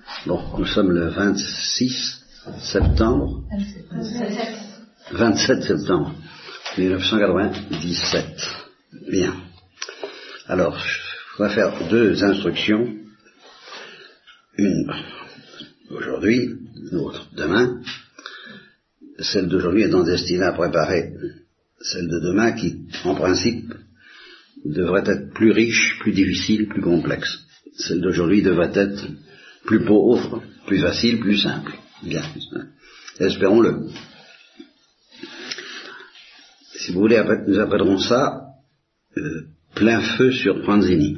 Bon, nous sommes le 26 septembre. 27 septembre 1997. Bien. Alors, je vais faire deux instructions. Une aujourd'hui, l'autre demain. Celle d'aujourd'hui étant destinée à préparer celle de demain qui, en principe, devrait être plus riche, plus difficile, plus complexe. Celle d'aujourd'hui devrait être plus pauvre, plus facile, plus simple. Bien. Espérons-le. Si vous voulez, nous appellerons ça plein feu sur Pranzini.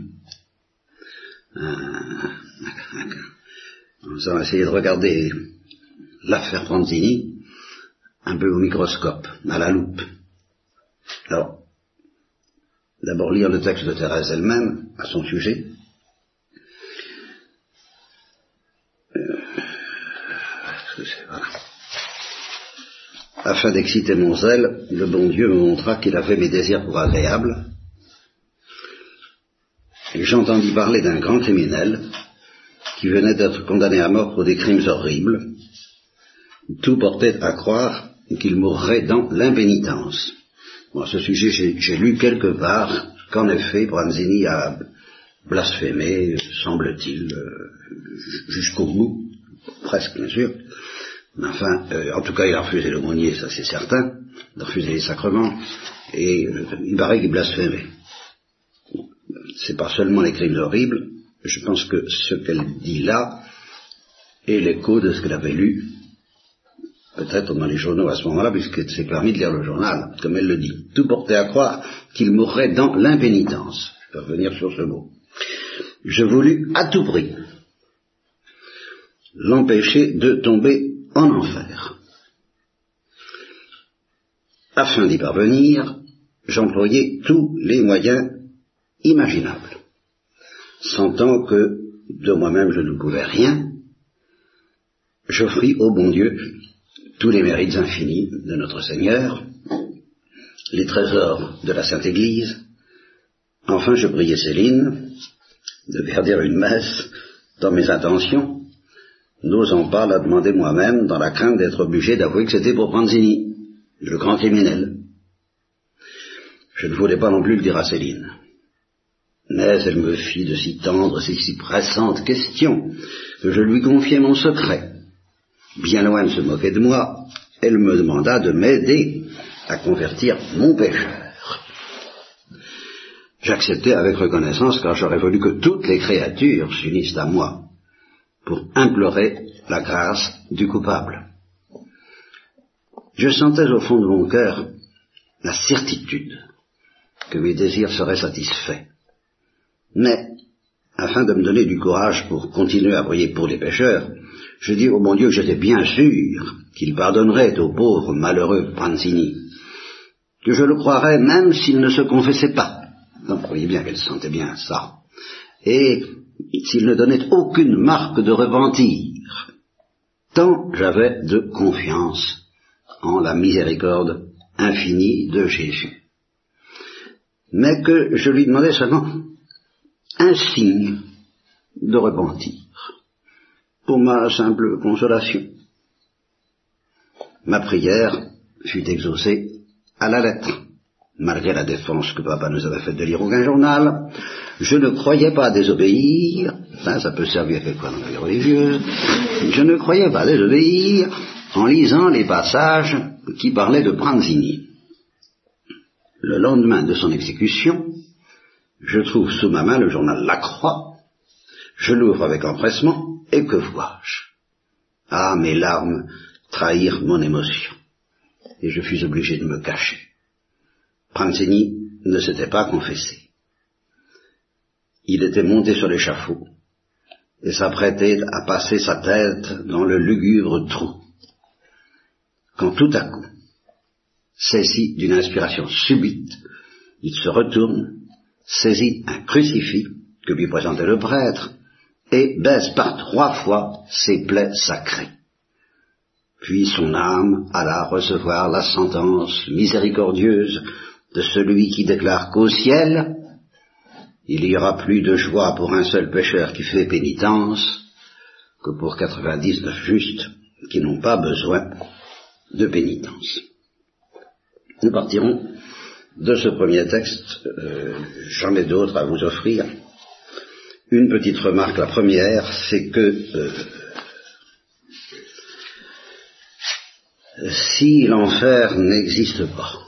On va essayer de regarder l'affaire Pranzini un peu au microscope, à la loupe. Alors, d'abord lire le texte de Thérèse elle-même à son sujet. Voilà. Afin d'exciter mon zèle, le bon Dieu me montra qu'il avait mes désirs pour agréables. Et j'entendis parler d'un grand criminel qui venait d'être condamné à mort pour des crimes horribles. Tout portait à croire qu'il mourrait dans l'impénitence. Bon, à ce sujet, j'ai lu quelque part qu'en effet, Pranzini a blasphémé, semble-t-il, jusqu'au bout, presque bien sûr. Mais enfin, en tout cas, il a refusé l'aumônier, ça c'est certain, il a refusé les sacrements, et il paraît qu'il blasphémait. C'est pas seulement les crimes horribles, je pense que ce qu'elle dit là est l'écho de ce qu'elle avait lu, peut-être dans les journaux à ce moment-là, puisqu'elle s'est permis de lire le journal, comme elle le dit. Tout portait à croire qu'il mourrait dans l'impénitence. Je vais revenir sur ce mot. Je voulus à tout prix l'empêcher de tomber en enfer. Afin d'y parvenir, j'employai tous les moyens imaginables. Sentant que de moi-même je ne pouvais rien, j'offris au bon Dieu tous les mérites infinis de notre Seigneur, les trésors de la Sainte Église. Enfin, je priai Céline de faire dire une messe dans mes intentions, n'osant pas la demander moi-même dans la crainte d'être obligé d'avouer que c'était pour Pranzini, le grand criminel. Je ne voulais pas non plus le dire à Céline. Mais elle me fit de si tendres et si pressantes questions que je lui confiai mon secret. Bien loin de se moquer de moi, elle me demanda de m'aider à convertir mon pécheur. J'acceptai avec reconnaissance, car j'aurais voulu que toutes les créatures s'unissent à moi pour implorer la grâce du coupable. Je sentais au fond de mon cœur la certitude que mes désirs seraient satisfaits. Mais, afin de me donner du courage pour continuer à prier pour les pécheurs, je dis au bon Dieu que j'étais bien sûr qu'il pardonnerait au pauvre malheureux Pranzini, que je le croirais même s'il ne se confessait pas. Donc, vous voyez bien qu'elle sentait bien ça. Et s'il ne donnait aucune marque de repentir, tant j'avais de confiance en la miséricorde infinie de Jésus. Mais que je lui demandais seulement un signe de repentir, pour ma simple consolation. Ma prière fut exaucée à la lettre. Malgré la défense que papa nous avait faite de lire aucun journal, je ne croyais pas désobéir, ça peut servir quelquefois dans la vie religieuse, je ne croyais pas désobéir en lisant les passages qui parlaient de Pranzini. Le lendemain de son exécution, je trouve sous ma main le journal La Croix, je l'ouvre avec empressement, et que vois-je? Ah, mes larmes trahirent mon émotion, et je fus obligé de me cacher. Pranzini ne s'était pas confessé. Il était monté sur l'échafaud, et s'apprêtait à passer sa tête dans le lugubre trou. Quand tout à coup, saisi d'une inspiration subite, il se retourne, saisit un crucifix que lui présentait le prêtre, et baise par 3 fois ses plaies sacrées. Puis son âme alla recevoir la sentence miséricordieuse de celui qui déclare qu'au ciel, il y aura plus de joie pour un seul pécheur qui fait pénitence que pour 99 justes qui n'ont pas besoin de pénitence. Nous partirons de ce premier texte, j'en ai d'autres à vous offrir. Une petite remarque, la première, c'est que si l'enfer n'existe pas,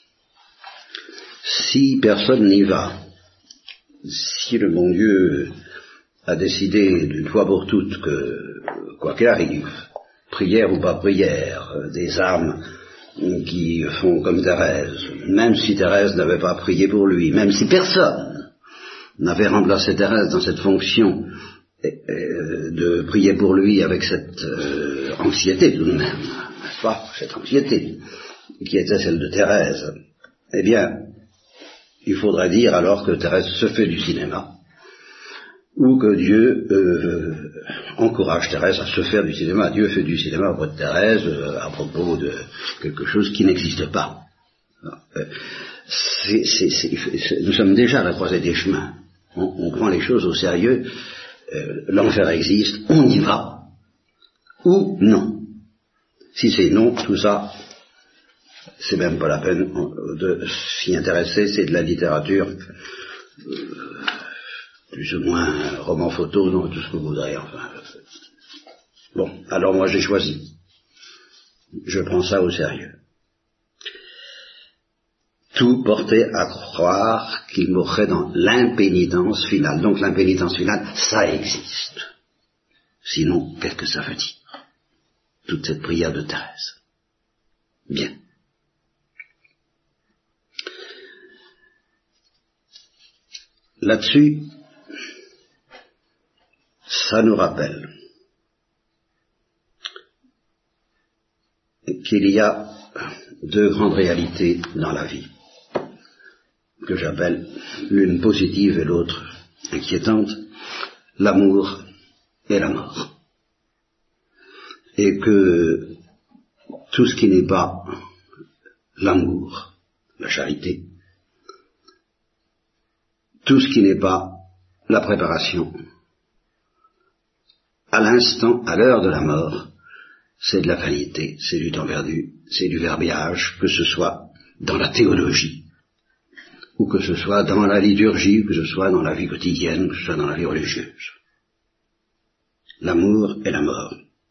si personne n'y va, si le bon Dieu a décidé d'une fois pour toutes que, quoi qu'il arrive, prière ou pas prière, des âmes qui font comme Thérèse, même si Thérèse n'avait pas prié pour lui, même si personne n'avait remplacé Thérèse dans cette fonction de prier pour lui avec cette anxiété tout de même, n'est-ce pas, cette anxiété qui était celle de Thérèse, eh bien, il faudrait dire alors que Thérèse se fait du cinéma, ou que Dieu encourage Thérèse à se faire du cinéma. Dieu fait du cinéma auprès de Thérèse à propos de quelque chose qui n'existe pas. Nous sommes déjà à la croisée des chemins. On prend les choses au sérieux. L'enfer existe, on y va. Ou non. Si c'est non, tout ça, c'est même pas la peine de s'y intéresser, c'est de la littérature, plus ou moins roman photo, non, tout ce que vous voudrez, enfin. Bon, alors moi j'ai choisi. Je prends ça au sérieux. Tout portait à croire qu'il mourrait dans l'impénitence finale. Donc l'impénitence finale, ça existe. Sinon, qu'est-ce que ça veut dire? Toute cette prière de Thérèse. Bien. Là-dessus, ça nous rappelle qu'il y a deux grandes réalités dans la vie, que j'appelle l'une positive et l'autre inquiétante, l'amour et la mort. Et que tout ce qui n'est pas l'amour, la charité, tout ce qui n'est pas la préparation, à l'instant, à l'heure de la mort, c'est de la vanité, c'est du temps perdu, c'est du verbiage, que ce soit dans la théologie, ou que ce soit dans la liturgie, que ce soit dans la vie quotidienne, que ce soit dans la vie religieuse. L'amour et la mort.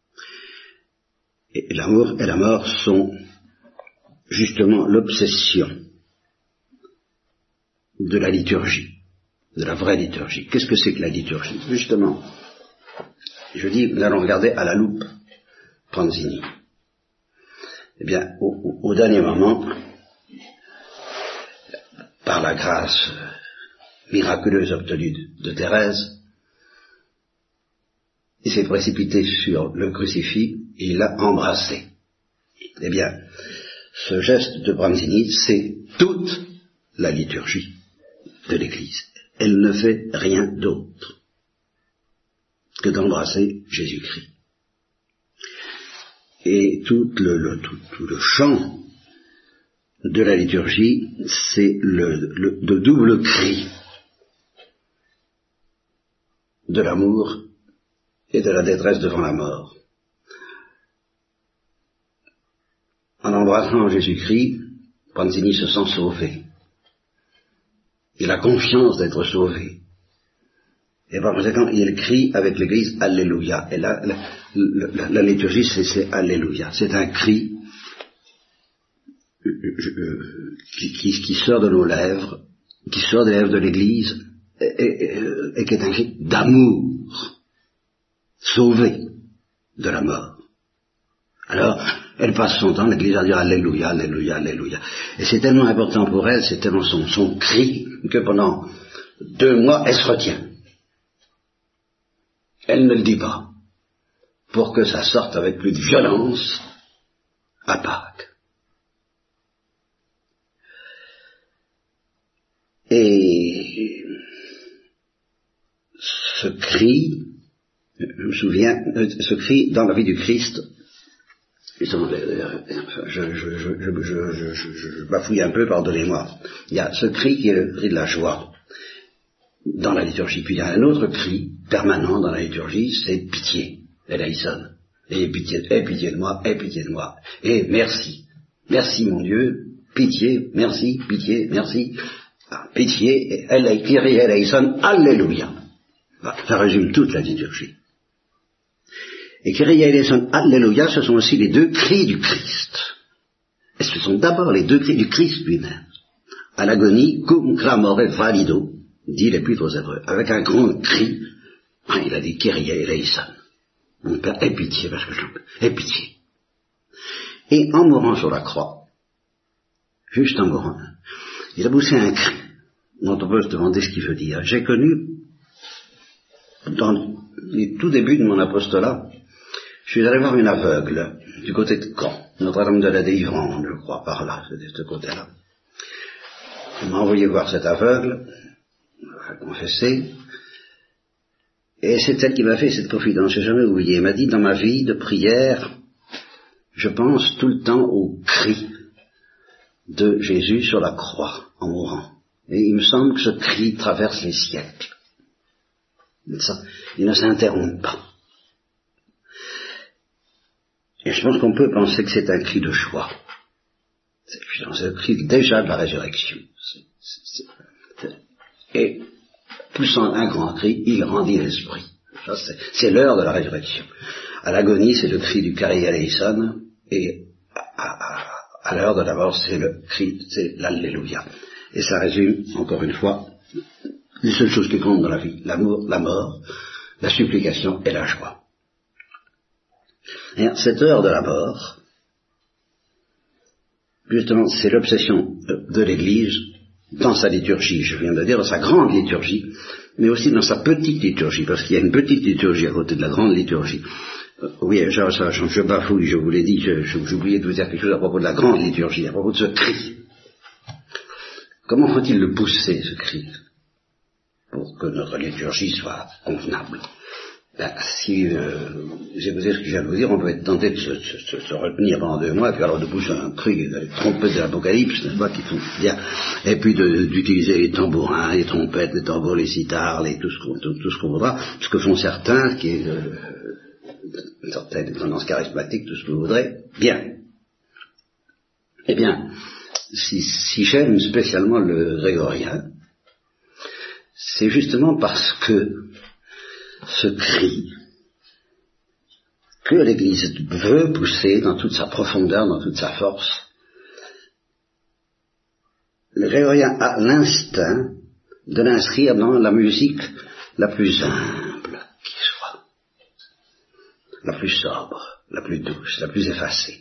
Et l'amour et la mort sont justement l'obsession de la liturgie, de la vraie liturgie. Qu'est-ce que c'est que la liturgie? Justement, je dis, nous allons regarder à la loupe Pranzini. Eh bien, au dernier moment, par la grâce miraculeuse obtenue de Thérèse, il s'est précipité sur le crucifix et il l'a embrassé. Eh bien, ce geste de Pranzini, c'est toute la liturgie de l'Église. Elle ne fait rien d'autre que d'embrasser Jésus-Christ. Et tout le chant de la liturgie, c'est le double cri de l'amour et de la détresse devant la mort. En embrassant Jésus-Christ, Pranzini se sent sauvé. Il a confiance d'être sauvé. Et par conséquent, il crie avec l'Église Alléluia. Et là, la liturgie, c'est Alléluia. C'est un cri qui sort de nos lèvres, qui sort des lèvres de l'Église, et qui est un cri d'amour, sauvé de la mort. Alors, elle passe son temps, l'Église, à dire Alléluia, Alléluia, Alléluia. Et c'est tellement important pour elle, c'est tellement son cri, que pendant 2 mois, elle se retient. Elle ne le dit pas, pour que ça sorte avec plus de violence à Pâques. Et ce cri, je me souviens, ce cri dans la vie du Christ, je bafouille un peu, pardonnez-moi. Il y a ce cri qui est le cri de la joie dans la liturgie. Puis il y a un autre cri permanent dans la liturgie, c'est pitié. Eleison. Ayez pitié de moi, ayez pitié de moi. Et merci. Merci mon Dieu, pitié, merci, pitié, merci. Ah, pitié, Kyrie eleison, alléluia. Ça résume toute la liturgie. Et Kyrie eleison, alléluia, ce sont aussi les deux cris du Christ. Et ce sont d'abord les deux cris du Christ lui-même. À l'agonie, cum clamore valido, dit l'Épître aux Hébreux, avec un grand cri, il a dit Kyrie eleison. Mon Père, aie pitié, parce que aie pitié. Et en mourant sur la croix, juste en mourant, il a poussé un cri, dont on peut se demander ce qu'il veut dire. J'ai connu, dans les tout débuts de mon apostolat, je suis allé voir une aveugle, du côté de Caen, Notre-Dame de la Délivrance, je crois, par là, c'est de ce côté-là. On m'a envoyé voir cette aveugle, à confesser, et c'est elle qui m'a fait cette confidence, je n'ai jamais oublié. Elle m'a dit, dans ma vie de prière, je pense tout le temps au cri de Jésus sur la croix, en mourant. Et il me semble que ce cri traverse les siècles. Ça, il ne s'interrompt pas. Et je pense qu'on peut penser que c'est un cri de joie. C'est le cri déjà de la résurrection. Et poussant un grand cri, il rendit l'esprit. C'est l'heure de la résurrection. À l'agonie, c'est le cri du Kyrie eleison, et à l'heure de la mort, c'est le cri, c'est l'Alléluia. Et ça résume, encore une fois, les seules choses qui comptent dans la vie, l'amour, la mort, la supplication et la joie. Et cette heure de la mort, justement, c'est l'obsession de l'Église dans sa liturgie, je viens de dire, dans sa grande liturgie, mais aussi dans sa petite liturgie, parce qu'il y a une petite liturgie à côté de la grande liturgie. Oui, je bafouille, je vous l'ai dit, j'oubliais de vous dire quelque chose à propos de la grande liturgie, à propos de ce cri. Comment faut-il le pousser, ce cri, pour que notre liturgie soit convenable? Si j'écoutais ce que je viens de vous dire, on peut être tenté de se retenir pendant 2 mois, puis alors de pousser un cri, les trompettes de l'Apocalypse, n'est-ce pas, qui font bien, et puis d'utiliser les tambourins, les trompettes, les tambours, les sitars, tout ce qu'on voudra, ce que font certains, qui est une certaine tendance charismatique, tout ce que vous voudrez, bien. Eh bien, si j'aime spécialement le grégorien, c'est justement parce que ce cri que l'Église veut pousser dans toute sa profondeur, dans toute sa force, le grégorien a l'instinct de l'inscrire dans la musique la plus humble qui soit, la plus sobre, la plus douce, la plus effacée.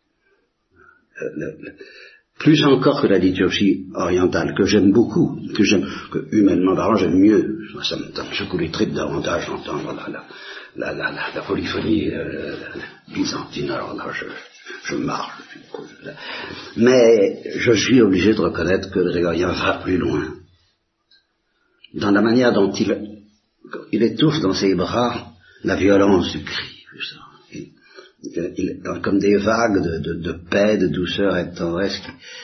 Plus encore que la liturgie orientale, que j'aime beaucoup, que humainement parlant j'aime mieux. Ça me secoue les tripes davantage d'entendre la polyphonie byzantine. Alors là, je marche. Mais je suis obligé de reconnaître que le grégorien va plus loin. Dans la manière dont il étouffe dans ses bras la violence du cri. Comme des vagues de paix, de douceur et de tendresse.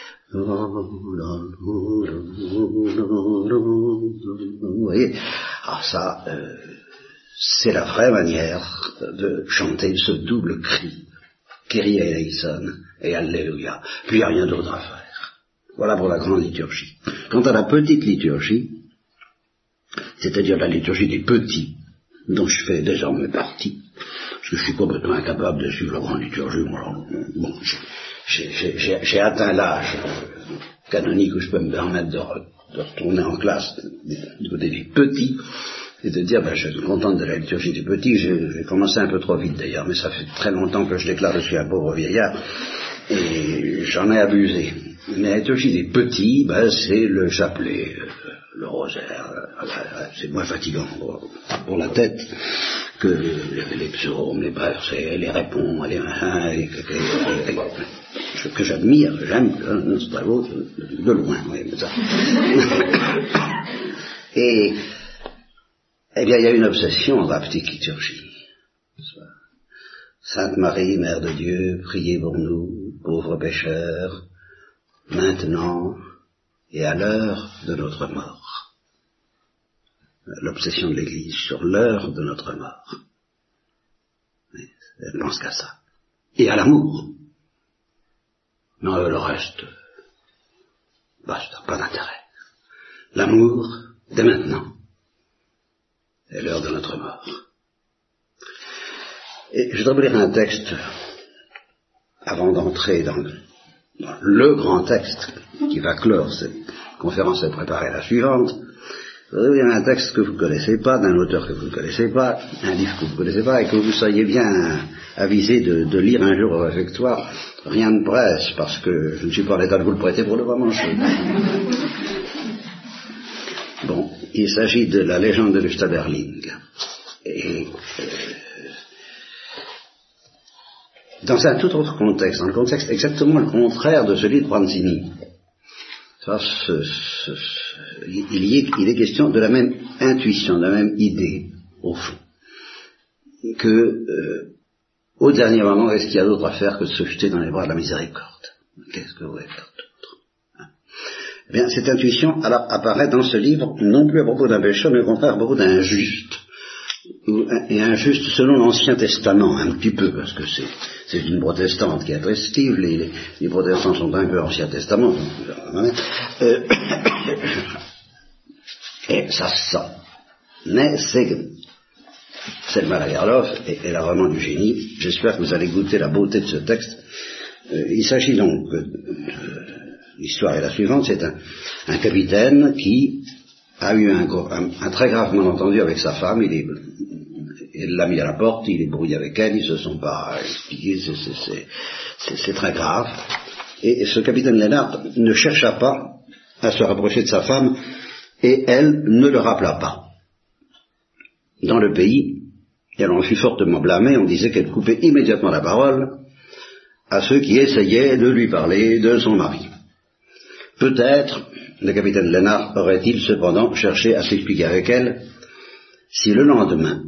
Vous voyez, alors ça, c'est la vraie manière de chanter ce double cri, Kyrie eleison et Alléluia. Puis il n'y a rien d'autre à faire. Voilà pour la grande liturgie. Quant à la petite liturgie, c'est-à-dire la liturgie des petits, dont je fais désormais partie, parce que je suis complètement incapable de suivre la grande liturgie. Bon, j'ai atteint l'âge canonique où je peux me permettre de retourner en classe du côté des petits et de dire, je suis content de la liturgie des petits. J'ai commencé un peu trop vite d'ailleurs, mais ça fait très longtemps que je déclare que je suis un pauvre vieillard et j'en ai abusé. Mais la liturgie des petits, c'est le chapelet, le rosaire, c'est moins fatigant pour la tête que les psaumes, les versets, les répons, les machins, que j'admire, j'aime, c'est très beau, de loin, oui, mais ça. Et, eh bien, il y a une obsession dans la petite liturgie. Sainte Marie, Mère de Dieu, priez pour nous, pauvres pécheurs, maintenant et à l'heure de notre mort. L'obsession de l'Église sur l'heure de notre mort. Elle ne pense qu'à ça. Et à l'amour. Non, le reste, ça n'a pas d'intérêt. L'amour, dès maintenant, est l'heure de notre mort. Et je voudrais vous lire un texte, avant d'entrer dans le grand texte qui va clore cette conférence et préparer la suivante. Je voudrais vous lire un texte que vous ne connaissez pas, d'un auteur que vous ne connaissez pas, un livre que vous ne connaissez pas, et que vous soyez bien avisé de lire un jour au réfectoire. Rien ne presse, parce que je ne suis pas en état de vous le prêter pour le moment. Bon, il s'agit de la légende de Lustaberling. Et dans un tout autre contexte, dans le contexte exactement le contraire de celui de Pranzini. Il est question de la même intuition, de la même idée, au fond, que au dernier moment, est-ce qu'il y a d'autre à faire que de se jeter dans les bras de la miséricorde? Qu'est-ce que vous voulez faire d'autre? Eh bien, cette intuition apparaît dans ce livre, non plus à propos d'un pécheur, mais au contraire à propos d'un juste. Et injuste selon l'Ancien Testament, un petit peu, parce que c'est une protestante qui est très stive, les protestants sont un peu Ancien Testament, et ça se sent. Mais c'est le Malagarlov, et elle a vraiment du génie. J'espère que vous allez goûter la beauté de ce texte. Il s'agit donc, l'histoire est la suivante, c'est un capitaine qui a eu un très grave malentendu avec sa femme, il l'a mis à la porte, il est brouillé avec elle, ils se sont pas expliqués, c'est très grave. Et ce capitaine Lénard ne chercha pas à se rapprocher de sa femme, et elle ne le rappela pas. Dans le pays, elle en fut fortement blâmée, on disait qu'elle coupait immédiatement la parole à ceux qui essayaient de lui parler de son mari. Peut-être, le capitaine Lénard aurait-il cependant cherché à s'expliquer avec elle si le lendemain,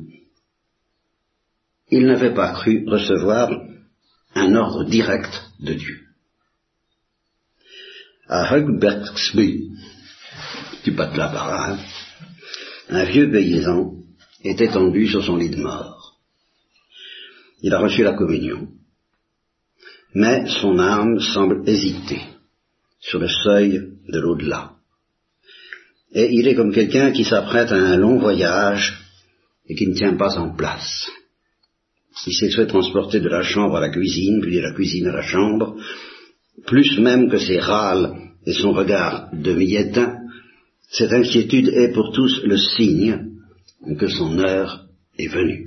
il n'avait pas cru recevoir un ordre direct de Dieu. À Hugbergsby, du pas de là par là, un vieux paysan est étendu sur son lit de mort. Il a reçu la communion, mais son âme semble hésiter sur le seuil de l'au-delà. Et il est comme quelqu'un qui s'apprête à un long voyage et qui ne tient pas en place. Il s'est fait transporter de la chambre à la cuisine, puis de la cuisine à la chambre, plus même que ses râles et son regard demi-éteint, cette inquiétude est pour tous le signe que son heure est venue.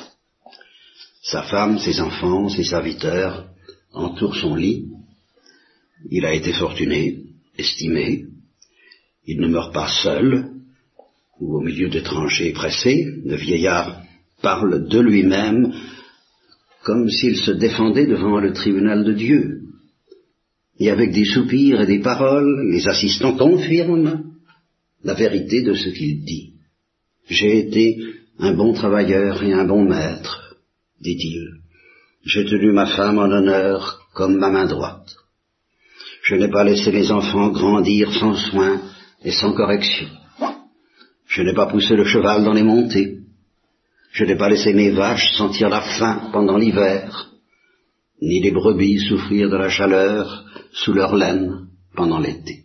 Sa femme, ses enfants, ses serviteurs entourent son lit. Il a été fortuné, estimé. Il ne meurt pas seul ou au milieu d'étrangers pressés. Le vieillard parle de lui-même comme s'il se défendait devant le tribunal de Dieu. Et avec des soupirs et des paroles, les assistants confirment la vérité de ce qu'il dit. J'ai été un bon travailleur et un bon maître, dit-il. J'ai tenu ma femme en honneur comme ma main droite. Je n'ai pas laissé mes enfants grandir sans soin et sans correction. Je n'ai pas poussé le cheval dans les montées. Je n'ai pas laissé mes vaches sentir la faim pendant l'hiver, ni les brebis souffrir de la chaleur sous leur laine pendant l'été.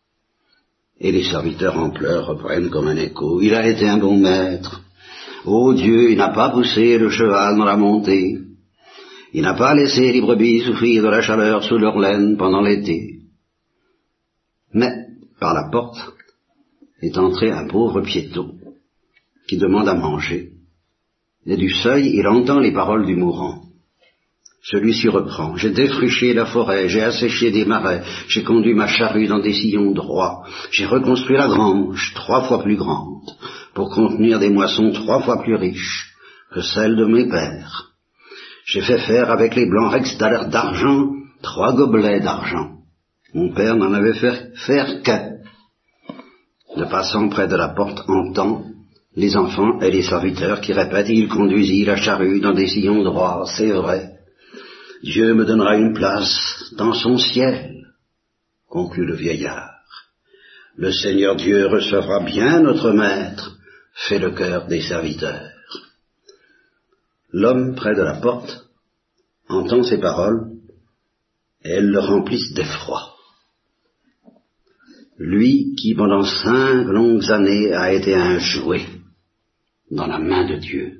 Et les serviteurs en pleurs reprennent comme un écho. Il a été un bon maître. Ô Dieu, il n'a pas poussé le cheval dans la montée. Il n'a pas laissé les brebis souffrir de la chaleur sous leur laine pendant l'été. Mais, par la porte, est entré un pauvre piéton qui demande à manger. Et du seuil, il entend les paroles du mourant. Celui-ci reprend. J'ai défriché la forêt, j'ai asséché des marais, j'ai conduit ma charrue dans des sillons droits, j'ai reconstruit la grange 3 fois plus grande, pour contenir des moissons 3 fois plus riches que celles de mes pères. J'ai fait faire avec les blancs rex d'argent 3 gobelets d'argent. Mon père n'en avait fait faire qu'un. Le passant près de la porte entend les enfants et les serviteurs qui répètent, il conduisit la charrue dans des sillons droits, c'est vrai. Dieu me donnera une place dans son ciel, conclut le vieillard. Le Seigneur Dieu recevra bien notre maître, fait le cœur des serviteurs. l'homme près de la porte entend ces paroles et elles le remplissent d'effroi. Lui qui pendant 5 longues années a été un jouet dans la main de Dieu,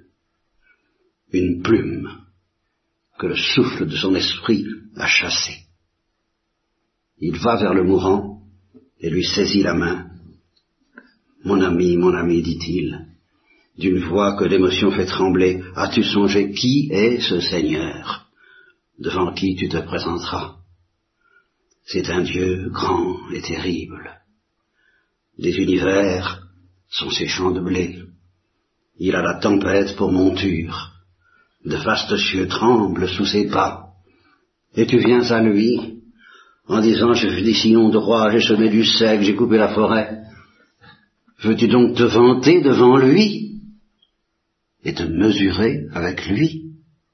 une plume que le souffle de son esprit a chassée. Il va vers le mourant et lui saisit la main. Mon ami, dit-il, d'une voix que l'émotion fait trembler, as-tu songé qui est ce Seigneur devant qui tu te présenteras? C'est un Dieu grand et terrible. Les univers sont ses champs de blé. Il a la tempête pour monture. De vastes cieux tremblent sous ses pas. Et tu viens à lui en disant, j'ai fait des sillons de roi, j'ai semé du sec, j'ai coupé la forêt. Veux-tu donc te vanter devant lui et te mesurer avec lui?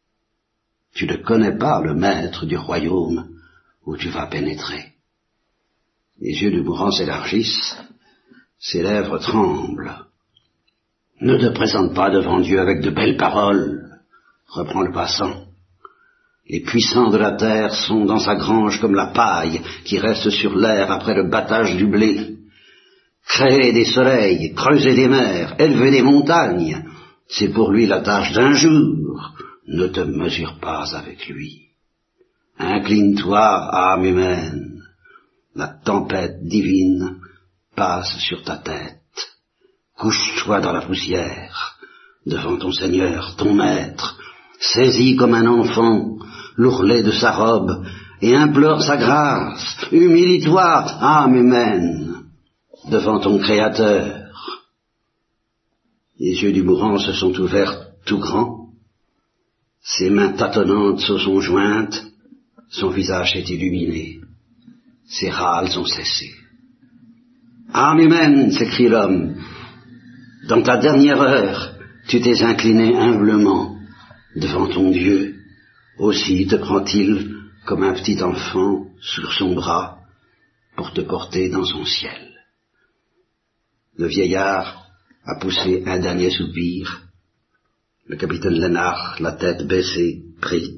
Tu ne connais pas le maître du royaume où tu vas pénétrer. Les yeux du mourant s'élargissent, ses lèvres tremblent. Ne te présente pas devant Dieu avec de belles paroles, reprend le passant. Les puissants de la terre sont dans sa grange comme la paille qui reste sur l'air après le battage du blé. Créer des soleils, creuser des mers, élever des montagnes, c'est pour lui la tâche d'un jour. Ne te mesure pas avec lui. Incline-toi, âme humaine. La tempête divine passe sur ta tête. Couche-toi dans la poussière, devant ton Seigneur, ton Maître. Saisis comme un enfant l'ourlet de sa robe et implore sa grâce. Humilie-toi, âme humaine, devant ton Créateur. Les yeux du mourant se sont ouverts tout grands. Ses mains tâtonnantes se sont jointes. Son visage est illuminé. Ses râles ont cessé. Âme humaine, s'écrie l'homme, dans ta dernière heure, tu t'es incliné humblement devant ton Dieu. Aussi te prend-il comme un petit enfant sur son bras pour te porter dans son ciel. Le vieillard a poussé un dernier soupir. Le capitaine Lénard, la tête baissée, prie.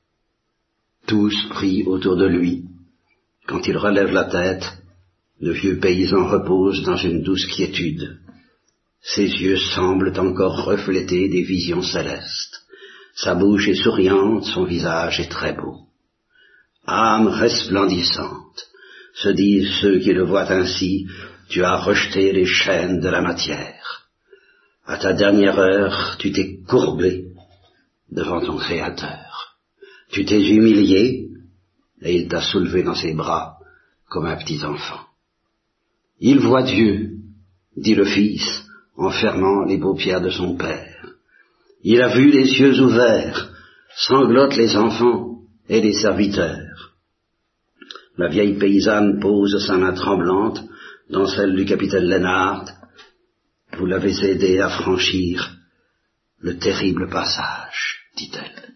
Tous prient autour de lui. Quand il relève la tête, le vieux paysan repose dans une douce quiétude. Ses yeux semblent encore refléter des visions célestes. Sa bouche est souriante, son visage est très beau. Âme resplendissante, se disent ceux qui le voient ainsi, tu as rejeté les chaînes de la matière. À ta dernière heure, tu t'es courbé devant ton Créateur. Tu t'es humilié et il t'a soulevé dans ses bras comme un petit enfant. Il voit Dieu, dit le Fils, en fermant les paupières de son Père. Il a vu les yeux ouverts, sanglotent les enfants et les serviteurs. La vieille paysanne pose sa main tremblante dans celle du capitaine Lénard. Vous l'avez aidé à franchir le terrible passage, dit-elle.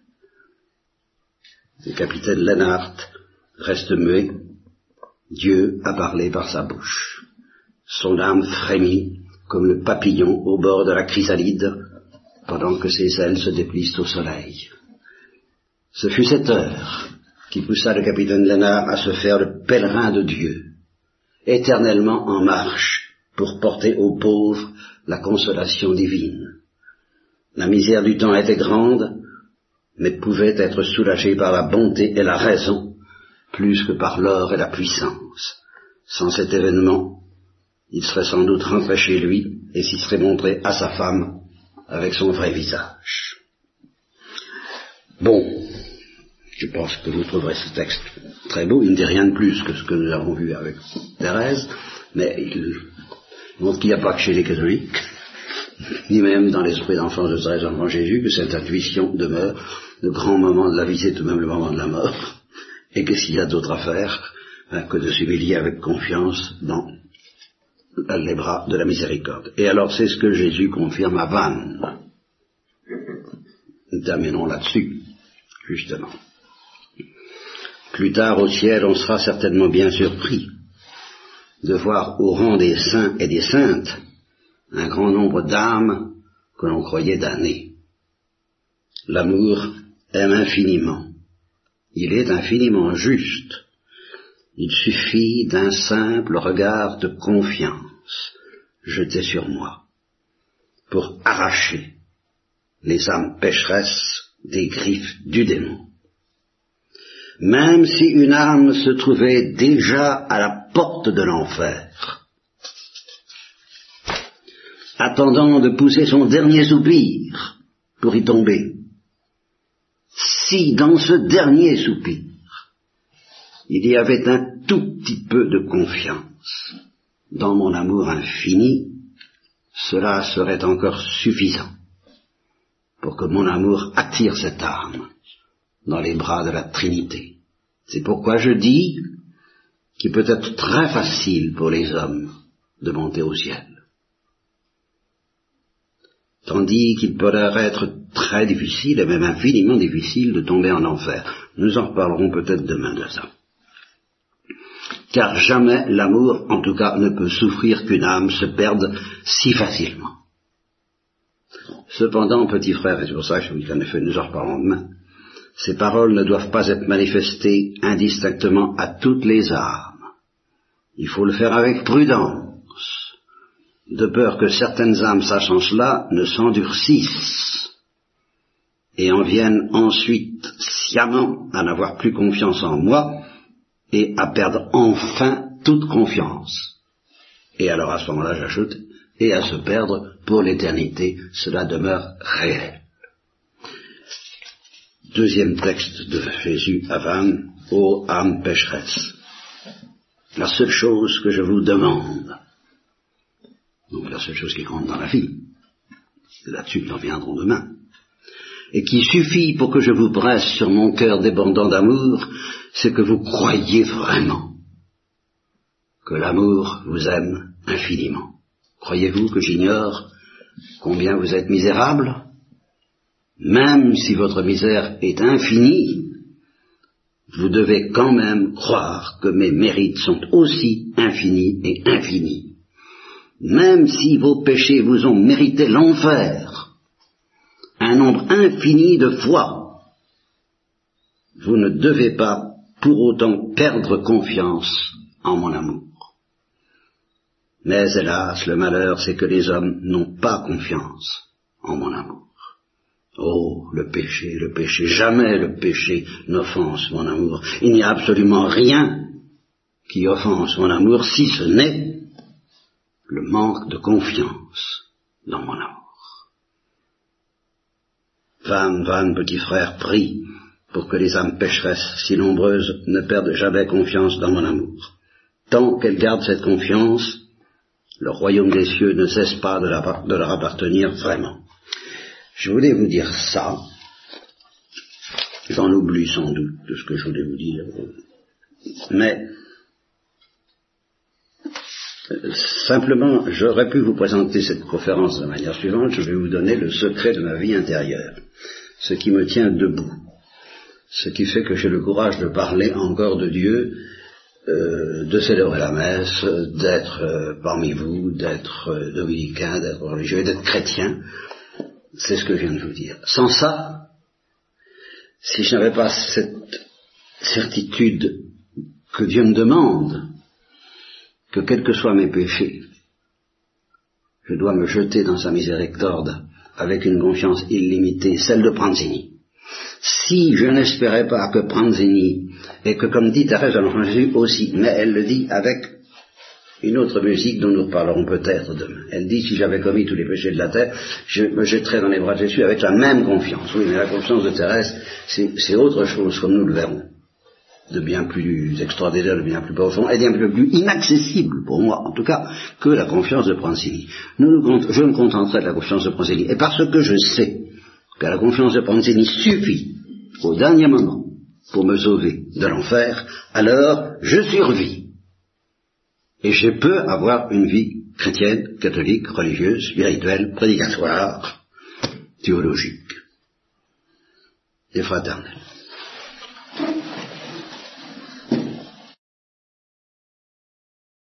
Le capitaine Lénard reste muet. Dieu a parlé par sa bouche. Son âme frémit comme le papillon au bord de la chrysalide, pendant que ses ailes se déplissent au soleil. Ce fut cette heure qui poussa le capitaine Lénard à se faire le pèlerin de Dieu, éternellement en marche pour porter aux pauvres la consolation divine. La misère du temps était grande, mais pouvait être soulagée par la bonté et la raison, plus que par l'or et la puissance. Sans cet événement, il serait sans doute rentré chez lui et s'y serait montré à sa femme avec son vrai visage. Bon, je pense que vous trouverez ce texte très beau. Il ne dit rien de plus que ce que nous avons vu avec Thérèse, mais il montre qu'il n'y a pas que chez les catholiques, ni même dans l'esprit d'enfance de Thérèse enfant Jésus, que cette intuition demeure. Le grand moment de la vie, c'est tout de même le moment de la mort, et que s'il y a d'autres à faire que de s'humilier avec confiance dans les bras de la miséricorde. Et alors c'est ce que Jésus confirme à Vannes. Nous terminons là-dessus, justement. Plus tard au ciel, on sera certainement bien surpris de voir au rang des saints et des saintes un grand nombre d'âmes que l'on croyait damnées. L'amour aime infiniment. Il est infiniment juste. Il suffit d'un simple regard de confiance jeté sur moi pour arracher les âmes pécheresses des griffes du démon. Même si une âme se trouvait déjà à la porte de l'enfer, attendant de pousser son dernier soupir pour y tomber, si dans ce dernier soupir, il y avait un tout petit peu de confiance dans mon amour infini, cela serait encore suffisant pour que mon amour attire cette âme dans les bras de la Trinité. C'est pourquoi je dis qu'il peut être très facile pour les hommes de monter au ciel, tandis qu'il peut leur être très difficile, et même infiniment difficile, de tomber en enfer. Nous en reparlerons peut-être demain de ça. Car jamais l'amour, en tout cas, ne peut souffrir qu'une âme se perde si facilement. Cependant, petit frère, et c'est pour ça que je vous dis qu'en effet, nous en reparlons demain, ces paroles ne doivent pas être manifestées indistinctement à toutes les âmes. Il faut le faire avec prudence, de peur que certaines âmes sachant cela ne s'endurcissent et en viennent ensuite sciemment à n'avoir plus confiance en moi et à perdre enfin toute confiance. Et alors à ce moment-là, j'ajoute, et à se perdre pour l'éternité, cela demeure réel. Deuxième texte de Jésus à Vannes, ô âme pécheresse. La seule chose que je vous demande, donc la seule chose qui compte dans la vie, là-dessus nous reviendrons demain, et qui suffit pour que je vous presse sur mon cœur débordant d'amour, c'est que vous croyiez vraiment que l'amour vous aime infiniment. Croyez-vous que j'ignore combien vous êtes misérable? Même si votre misère est infinie, vous devez quand même croire que mes mérites sont aussi infinis et infinis. Même si vos péchés vous ont mérité l'enfer, un nombre infini de fois, vous ne devez pas pour autant perdre confiance en mon amour. Mais hélas, le malheur, c'est que les hommes n'ont pas confiance en mon amour. Oh, le péché, jamais le péché n'offense mon amour. Il n'y a absolument rien qui offense mon amour, si ce n'est le manque de confiance dans mon amour. Vannes, petit frère, prie pour que les âmes pécheresses si nombreuses ne perdent jamais confiance dans mon amour. Tant qu'elles gardent cette confiance, le royaume des cieux ne cesse pas de leur appartenir vraiment. Je voulais vous dire ça, j'en oublie sans doute de ce que je voulais vous dire, mais simplement j'aurais pu vous présenter cette conférence de la manière suivante. Je vais vous donner le secret de ma vie intérieure, ce qui me tient debout, ce qui fait que j'ai le courage de parler encore de Dieu, de célébrer la messe, d'être parmi vous, d'être dominicain, d'être religieux, d'être chrétien. C'est ce que je viens de vous dire. Sans ça, si je n'avais pas cette certitude que Dieu me demande, que quels que soient mes péchés, je dois me jeter dans sa miséricorde avec une confiance illimitée, celle de Pranzini. Si je n'espérais pas que Pranzini, et que comme dit Thérèse de l'Enfant Jésus aussi, mais elle le dit avec une autre musique dont nous reparlerons peut-être demain. Elle dit, si j'avais commis tous les péchés de la terre, je me jetterais dans les bras de Jésus avec la même confiance. Oui, mais la confiance de Thérèse, c'est autre chose, comme nous le verrons, de bien plus extraordinaire, de bien plus profond, et bien plus inaccessible, pour moi en tout cas, que la confiance de Pranzini. Je me contenterai de la confiance de Pranzini, et parce que je sais que la confiance de Pranzini suffit au dernier moment pour me sauver de l'enfer, alors je survis. Et je peux avoir une vie chrétienne, catholique, religieuse, spirituelle, prédicatoire, théologique et fraternelle.